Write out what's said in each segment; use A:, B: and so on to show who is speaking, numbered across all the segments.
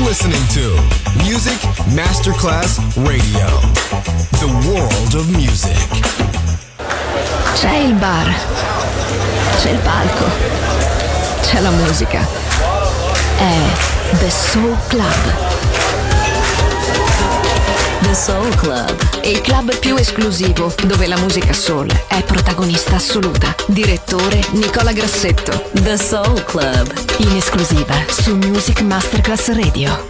A: listening to Music Masterclass Radio. The world of music.
B: C'è il bar, c'è il palco, c'è la musica. È The Soul Club. The Soul Club, il club più esclusivo dove la musica soul è protagonista assoluta. Direttore Nicola Grassetto. The Soul Club, in esclusiva su Music Masterclass Radio.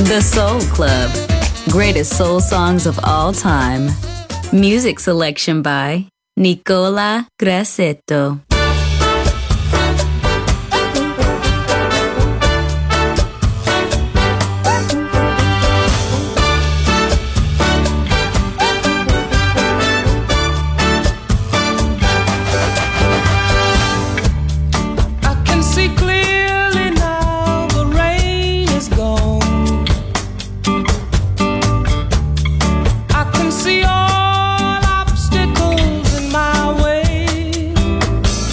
B: The Soul Club. Greatest soul songs of all time. Music selection by Nicola Grassetto.
C: See all obstacles in my way.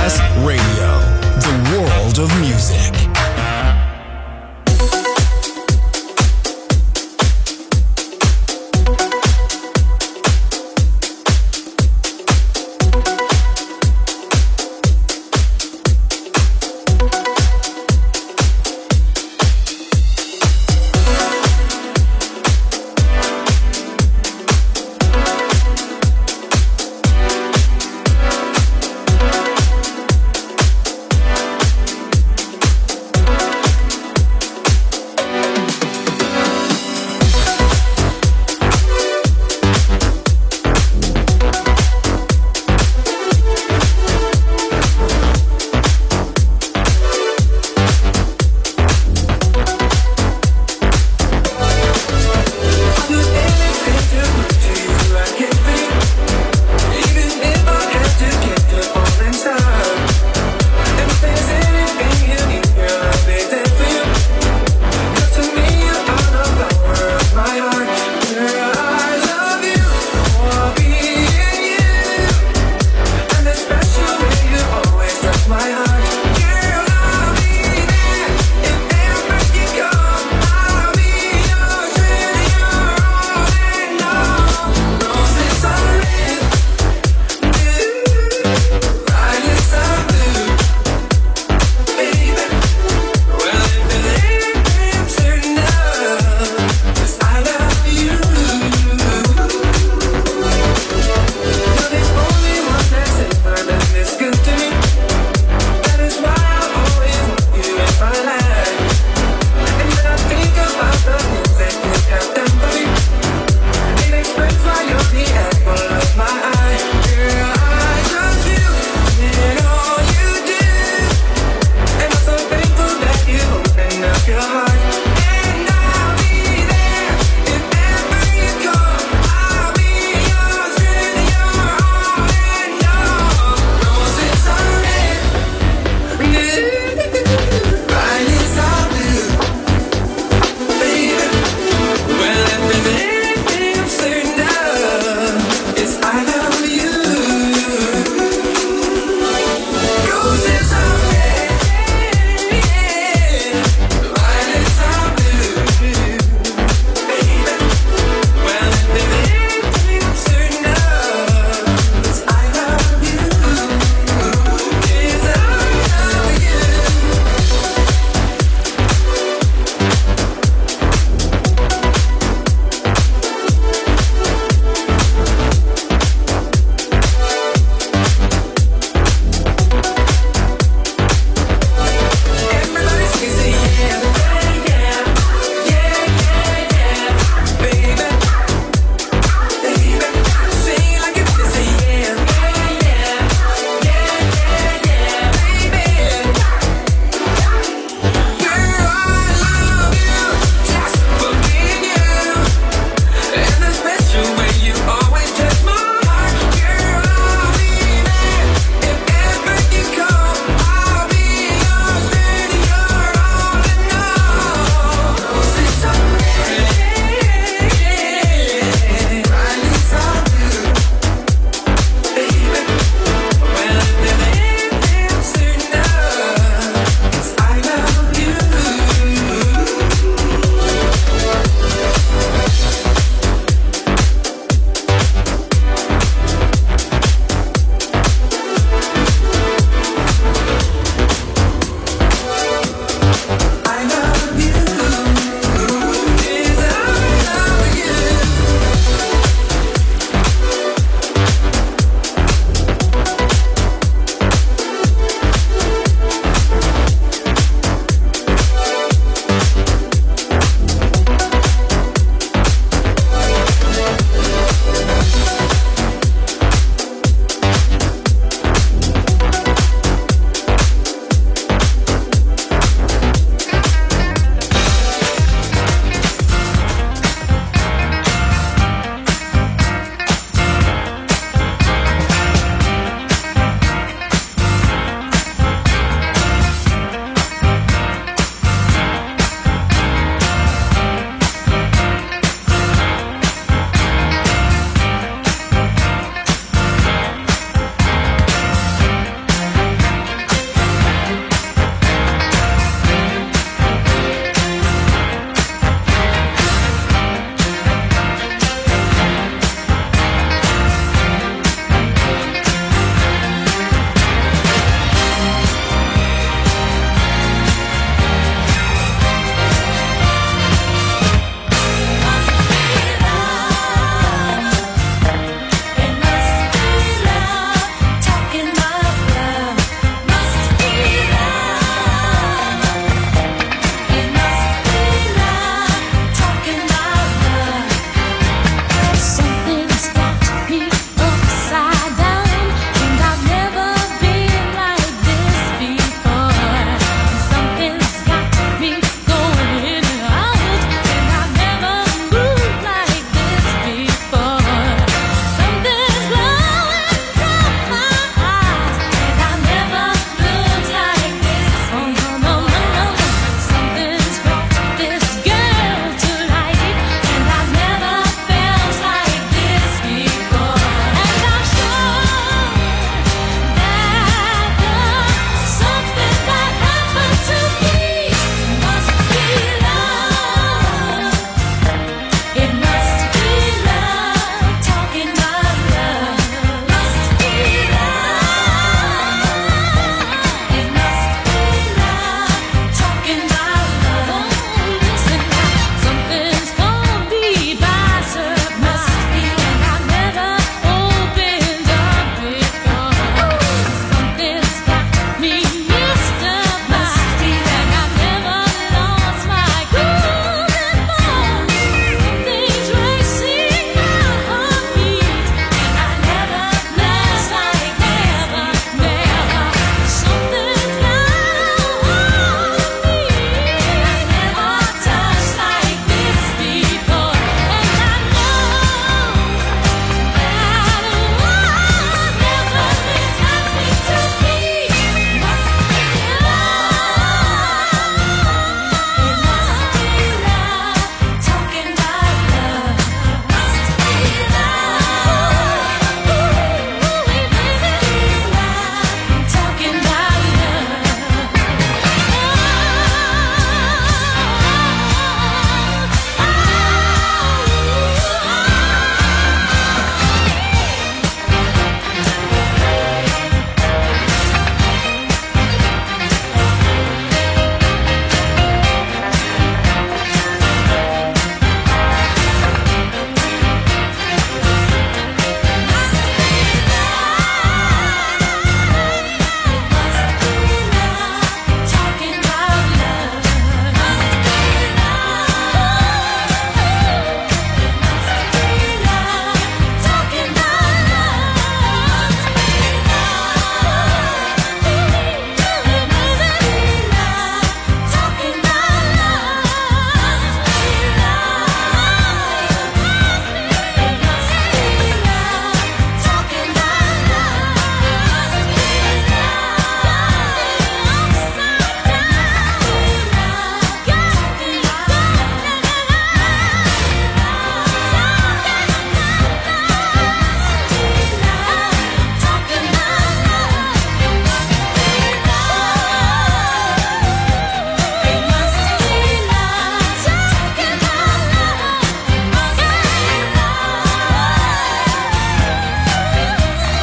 A: Masterclass Radio, the world of music.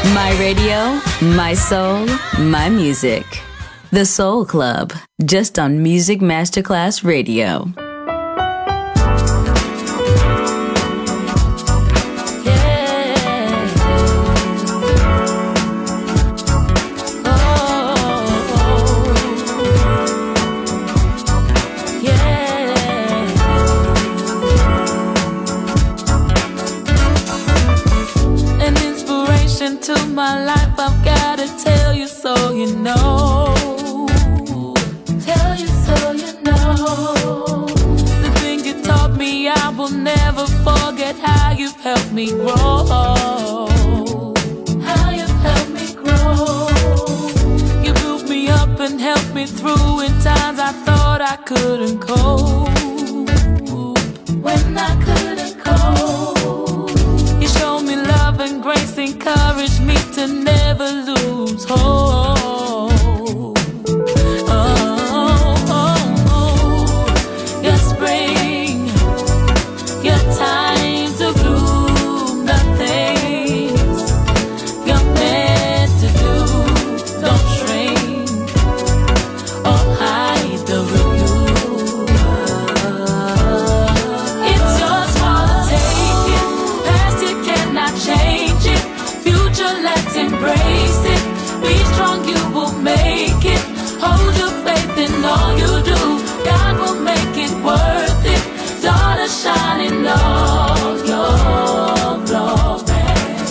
B: My radio, my soul, my music. The Soul Club, just on Music Masterclass Radio.
C: To my life, I've gotta tell you so you know. Tell you so you know. The things you taught me, I will never forget. How you've helped me grow. How you've helped me grow. You built me up and helped me through in times I thought I couldn't cope. When I couldn't cope, you showed me love and grace, encouraged me to never lose hope. Your spring, your time to bloom, the things you're meant to do. Don't shrink or hide the review. It's yours for the taking. Past you cannot change it. Future, let's embrace it. Be strong, you will make it. Hold your faith in all you do. God will make it worth it. Daughter, shine in all your glory.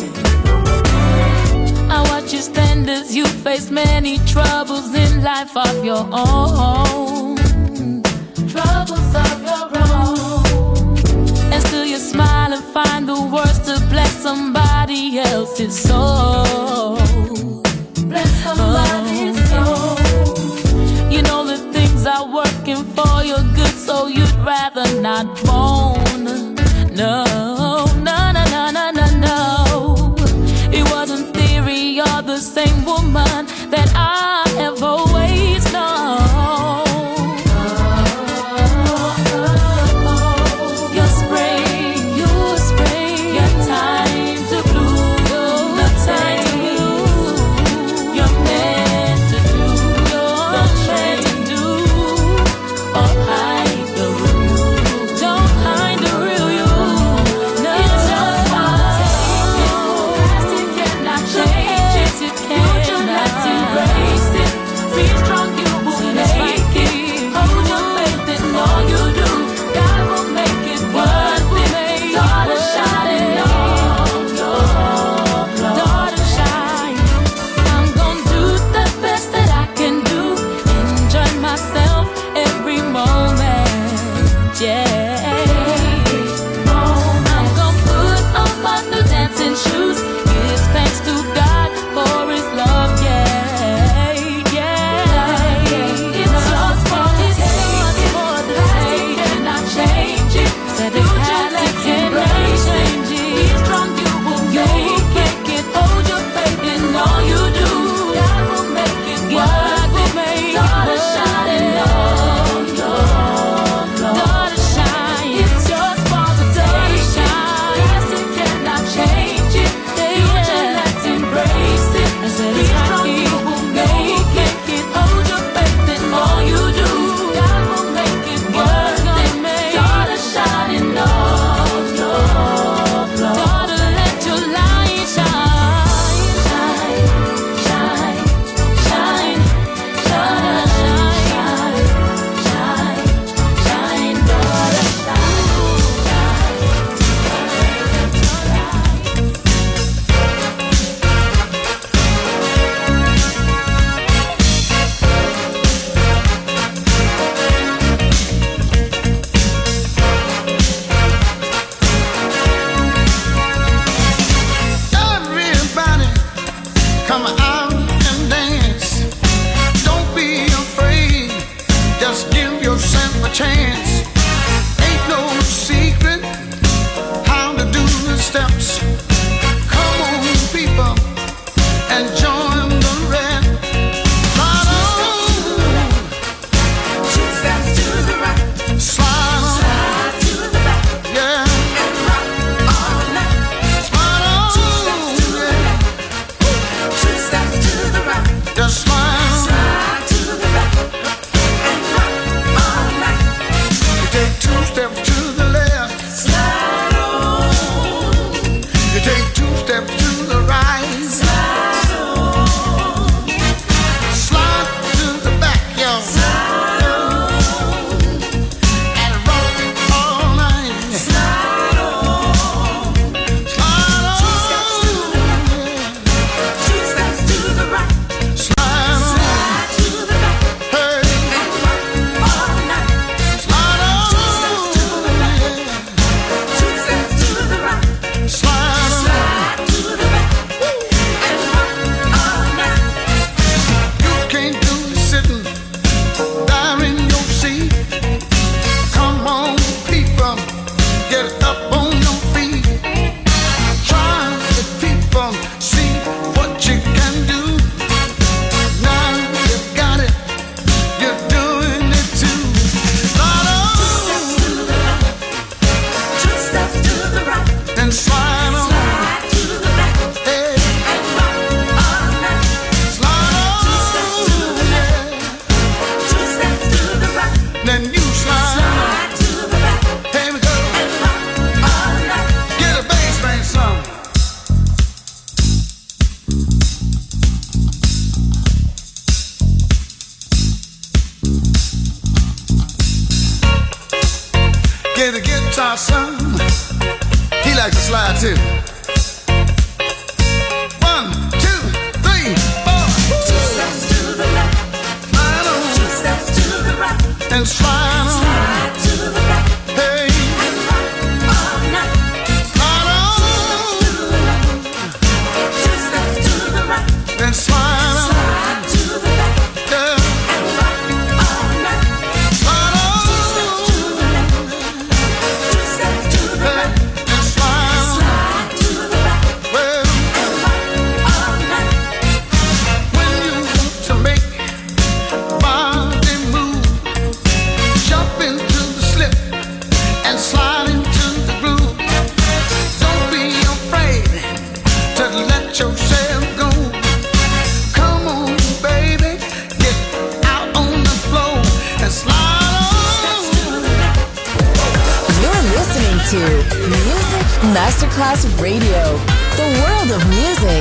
C: I watch you stand as you face many troubles in life of your own. Troubles of your own. And still you smile and find the words to bless somebody else's soul. Bless somebody's soul. You know the things are working for your good, so you'd rather not moan. No, no, no, no, no, no, no. It wasn't theory, you're the same woman that I have always known. Your spring, your time to bloom, the time
D: Masterclass Radio, the world of music.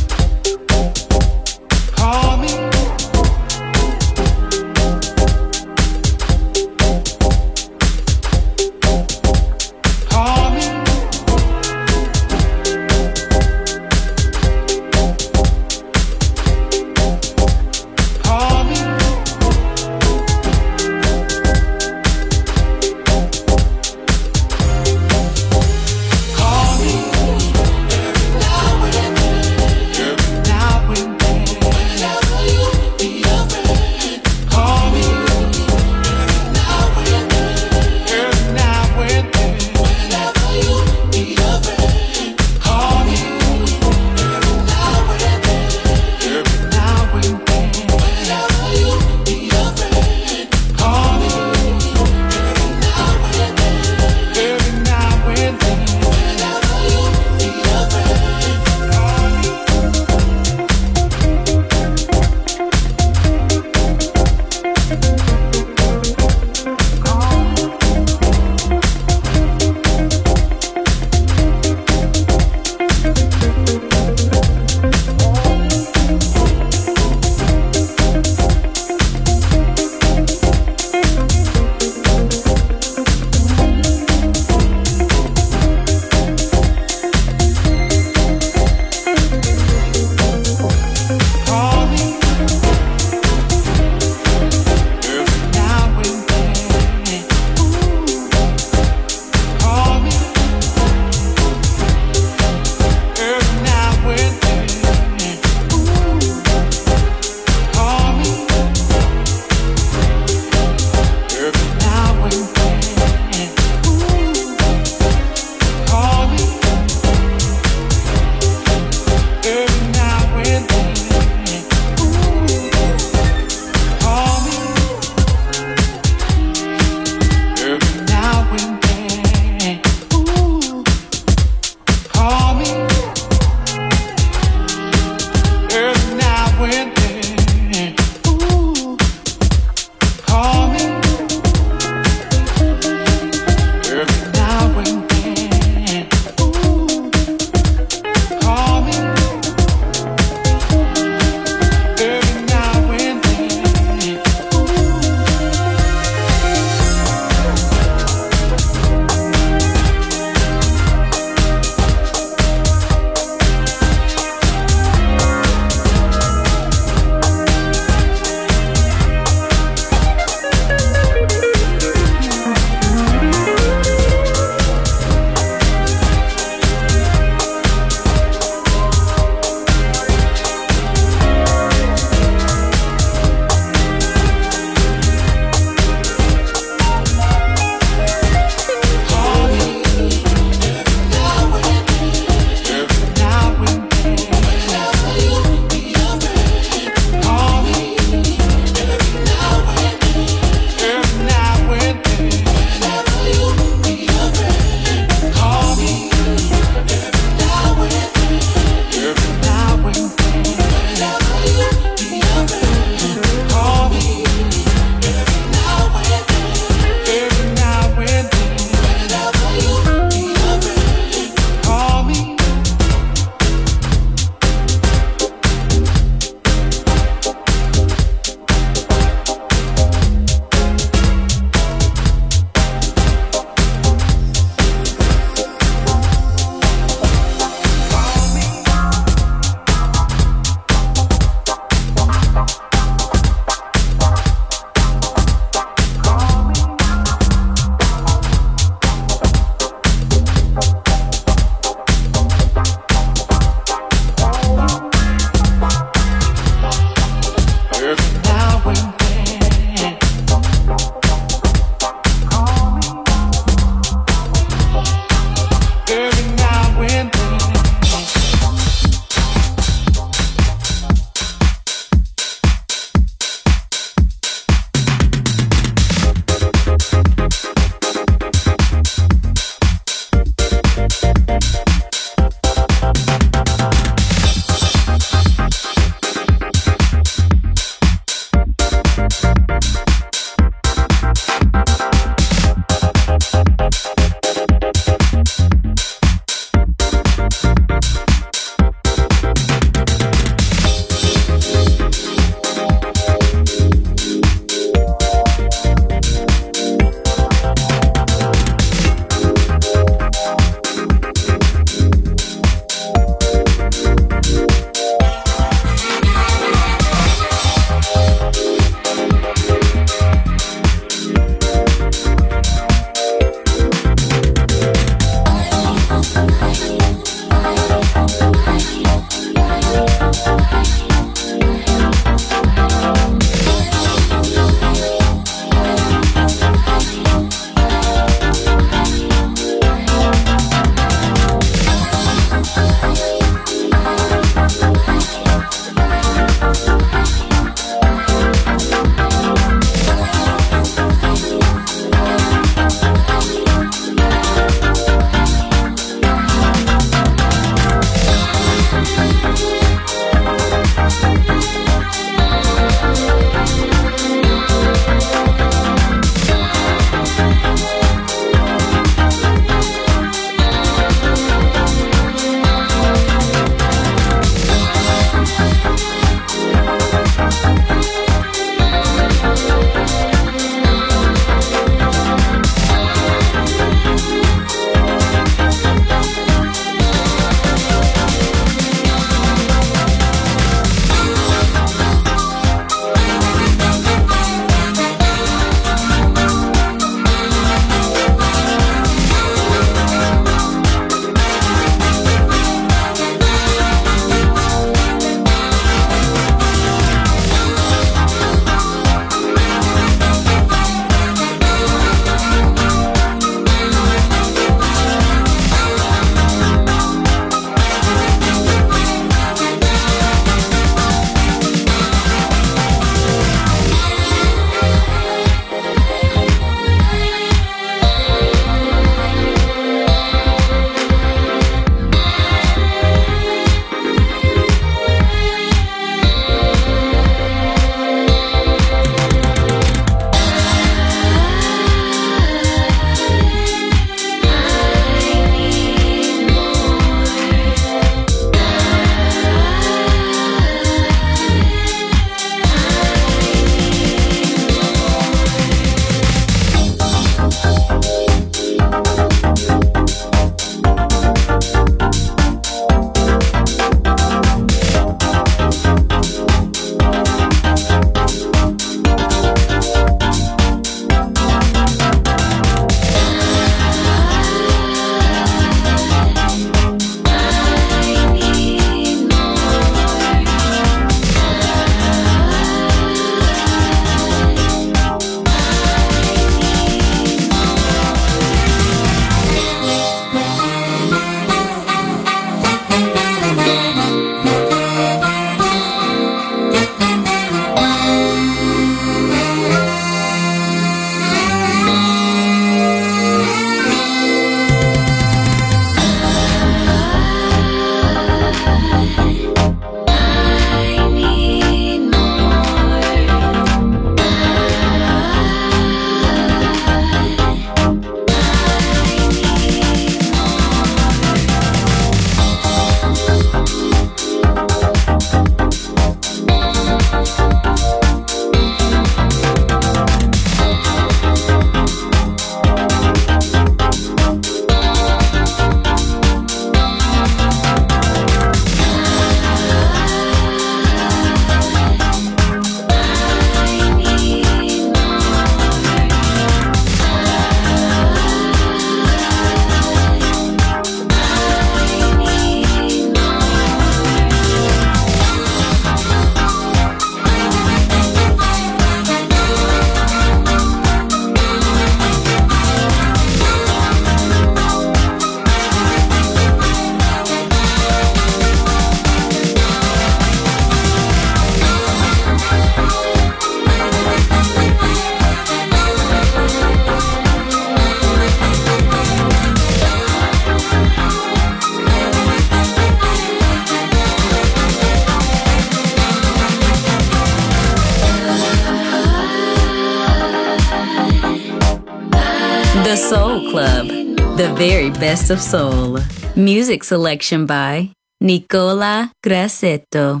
E: Soul Club, the very best of soul. Music selection by Nicola Grassetto.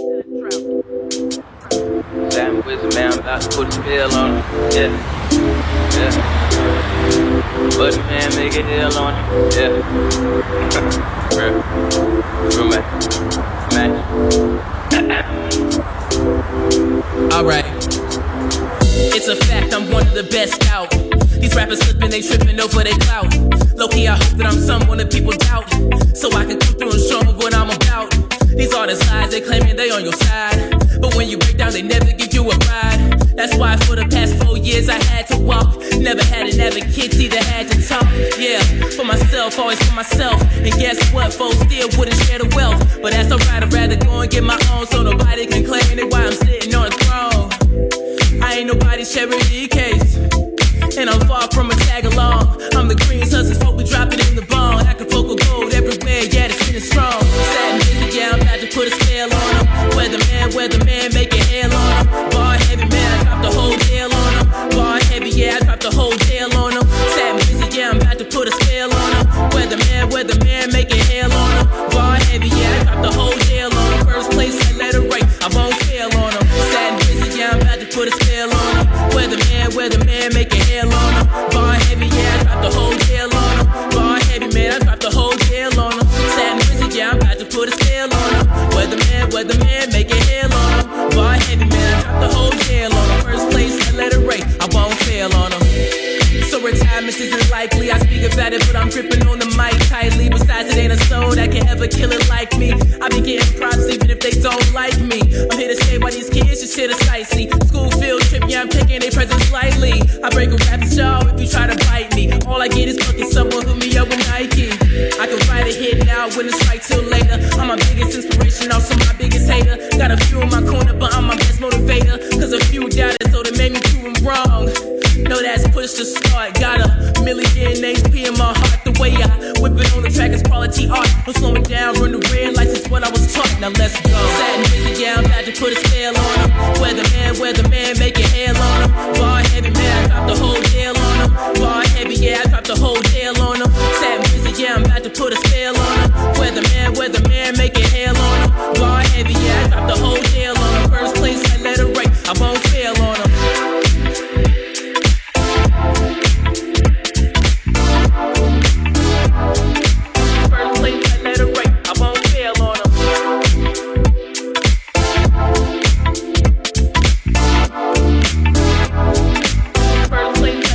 F: Damn wizard man, I'm about to put a spell on him. Yeah, yeah. But man, make a hell on him. Yeah. Real man.
G: Alright. It's a fact, I'm one of the best out. These rappers slipping, they tripping over their clout. Low-key, I hope that I'm someone that people doubt, so I can come through and show them what I'm about. These are the lies, they claiming they on your side, but when you break down, they never give you a ride. That's why for the past 4 years I had to walk. Never had an advocate, either had to talk. Yeah, for myself, always for myself. And guess what, folks still wouldn't share the wealth. But that's alright, I'd rather go and get my own, so nobody can claim it while I'm sitting on the throne. I ain't nobody's charity case, and I'm far from a tag along. I'm the green hustle, smoke, we drop it in the bone. Acapulco gold everywhere, yeah, it's feeling strong. Sad and busy, yeah, I'm about to put a spell on them. Weatherman, make it hell on them. Bar heavy, man, I dropped the whole jail on them. Bar heavy, yeah, I dropped the whole jail on them. Sad and busy, yeah, I'm about to put a spell on them. Weatherman, make it hell on them. Bar heavy, yeah, I dropped the whole jail on them. First place, I let it rate, I won't fail on them. Sad and busy, yeah, I'm about to put a spell on them. Weatherman, make it hell on them. Bar heavy, yeah, I dropped the whole jail on them. Bar heavy, man, I dropped the whole jail on them. Sad and busy, yeah, I'm about to put a spell on them. Weatherman, make it hell on them. Bar heavy, man, I dropped the whole jail on them. First place, I let it rate, I won't fail on them. So retirement isn't likely, I speak about it, but I'm gripping on the mic tightly. Besides, it ain't a soul that can ever kill it like me. I be getting props even if they don't like me. I'm here to say why these kids just here to sightsee. School field trip, yeah, I'm taking their presents lightly. I break a rap show if you try to bite me. All I get is fucking someone hook me up with Nike. I can write a hit now, wouldn't strike till later. I'm my biggest inspiration, also my biggest hater. Got a few in my corner, but I'm my best motivator. Cause a few doubted, so they made me prove them wrong. Know that's push to start. Got a million HP in my heart. The way I whip it on the track is quality art. I'm slowing down, run the red lights, it's what I was taught. Now let's go. Sad and busy, yeah, I'm about to put a spell on them. Weatherman, make it hell on them. Bar heavy, man, I dropped the whole jail on them. Bar heavy, yeah, I dropped the whole jail on them. Sad and busy, yeah, I'm about to put a spell on them. Weatherman, make it hell on them. Bar heavy, yeah, I dropped the whole jail on them. First place, I let it rate, I won't fail on them. First place,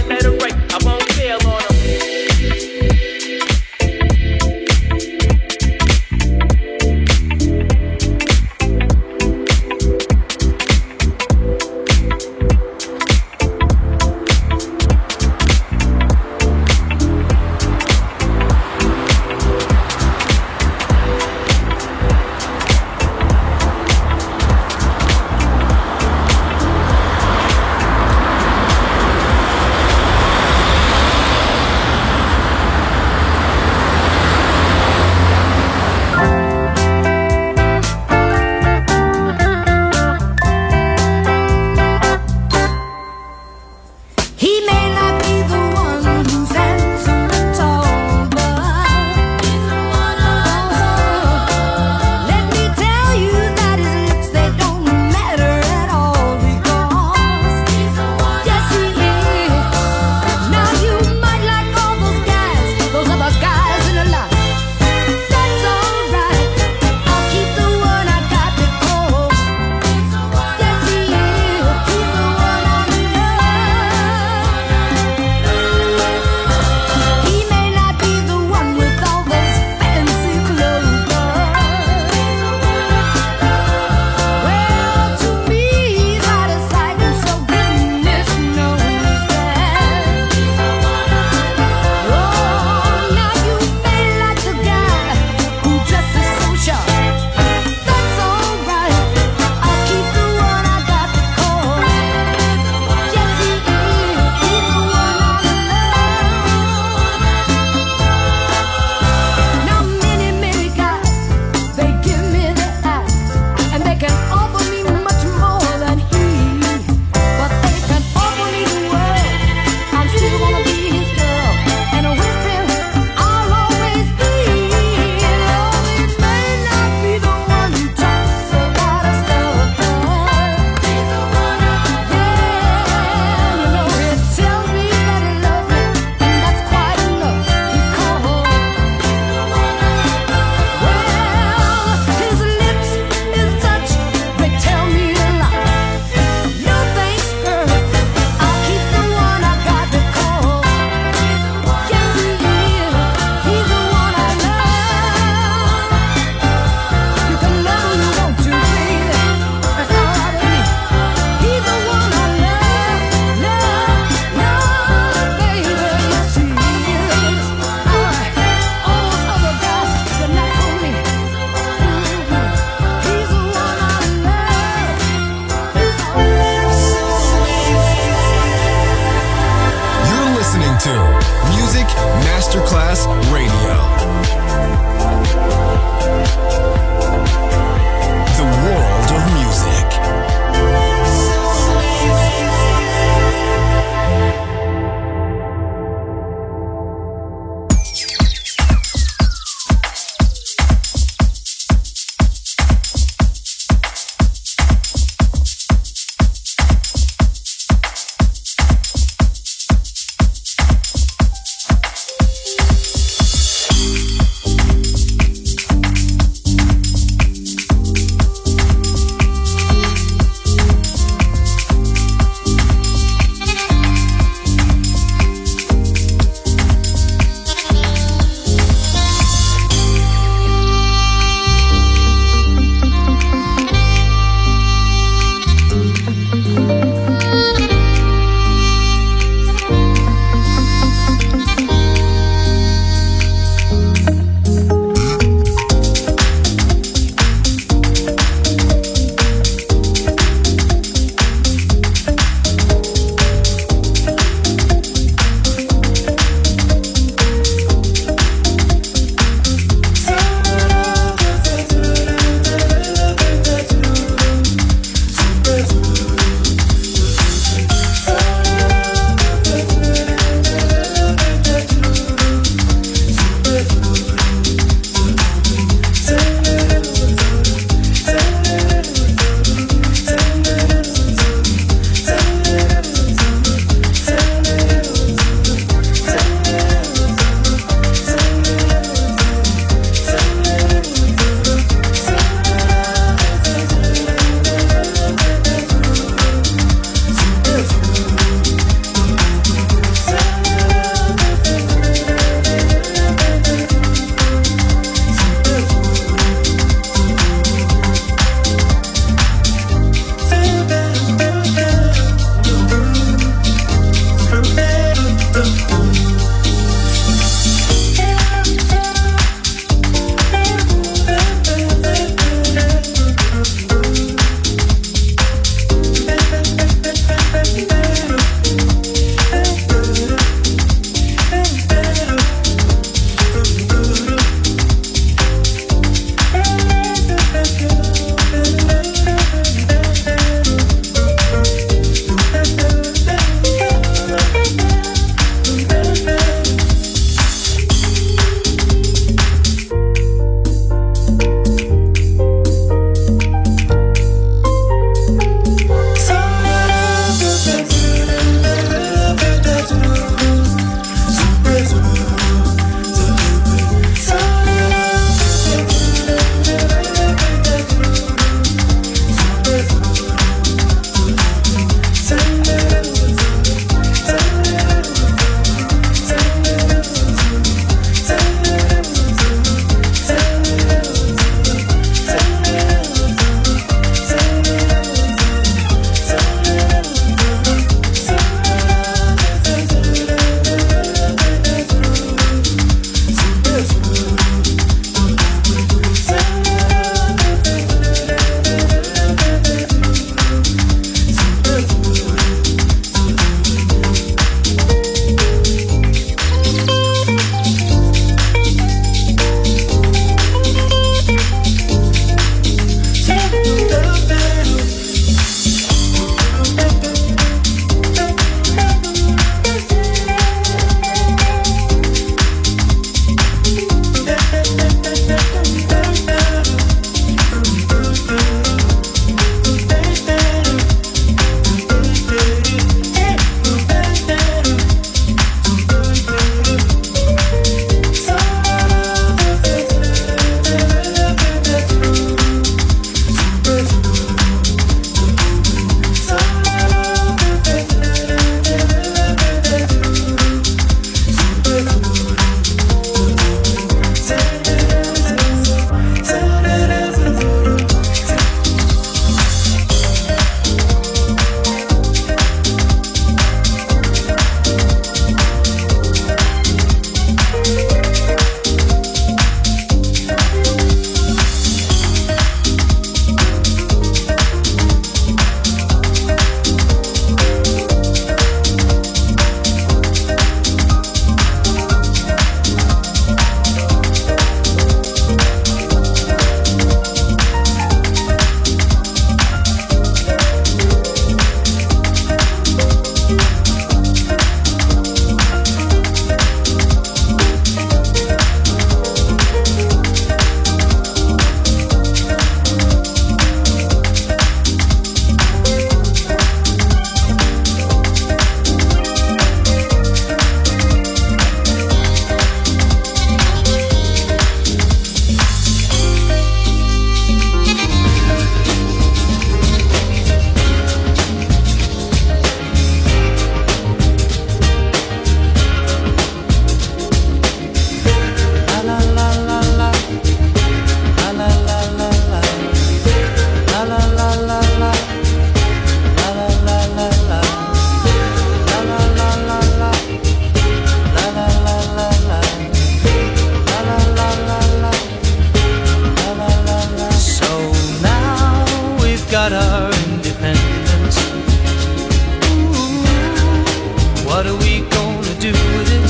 H: our independence. Ooh, what are we gonna do with it?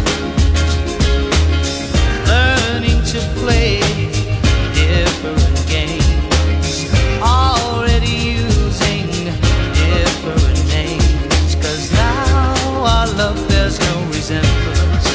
H: Learning to play different games, already using different names, 'cause now our love there's no resemblance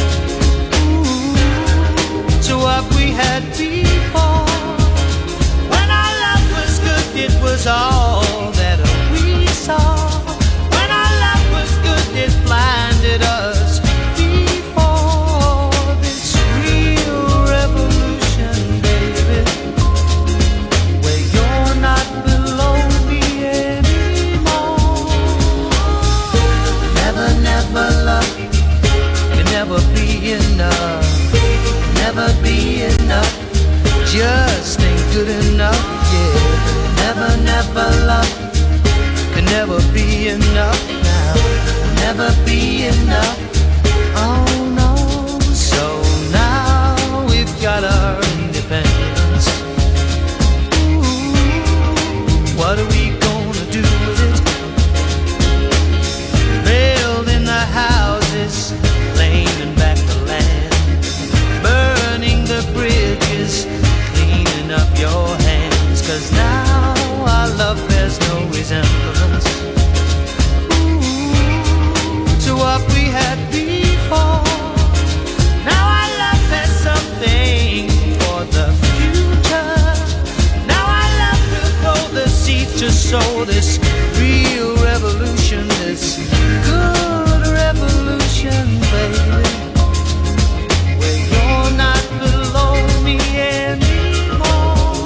H: to what we had before. When our love was good, it was all that we saw. When our love was good, it blinded us before this real revolution, baby, where you're not below me anymore. Never, never love can never be enough. Never be enough, just ain't good enough, yeah. Never, never love can never be enough now. Never be enough, oh no. So now we've got our independence. Ooh, what are we gonna do with it? Building the houses, claiming back the land, burning the bridges, cleaning up your hands, 'cause now our love bears no resemblance to what we had before. Now our love has something for the future. Now our love will grow the seeds to sow this real revolution, this good revolution, baby. You're not below me anymore.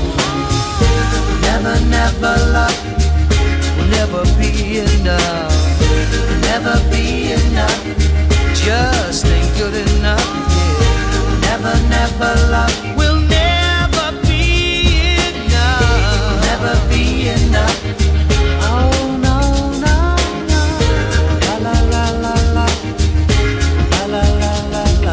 H: Never, never love will never be enough. Never be enough, just ain't good enough, yeah. Never, never love will never be enough. Never be enough. Oh no, no, no. La la la la la. La la la la la.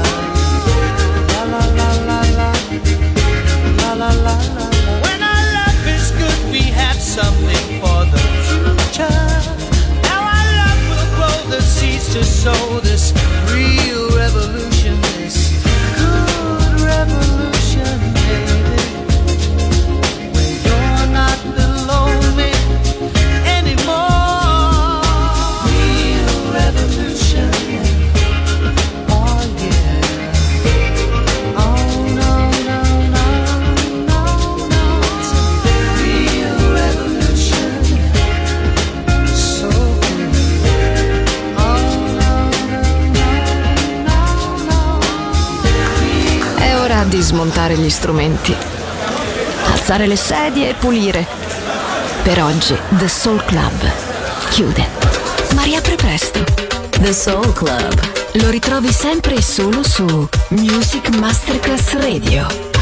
H: When our love is good, we have something for the future. Now our love will grow the seeds to sow this real revolution, this good revolution, baby. Where you're not below me anymore. Real revolution, oh yeah.
B: Di smontare gli strumenti, alzare le sedie e pulire. Per oggi The Soul Club chiude, ma riapre presto. The Soul Club lo ritrovi sempre e solo su Music Masterclass Radio.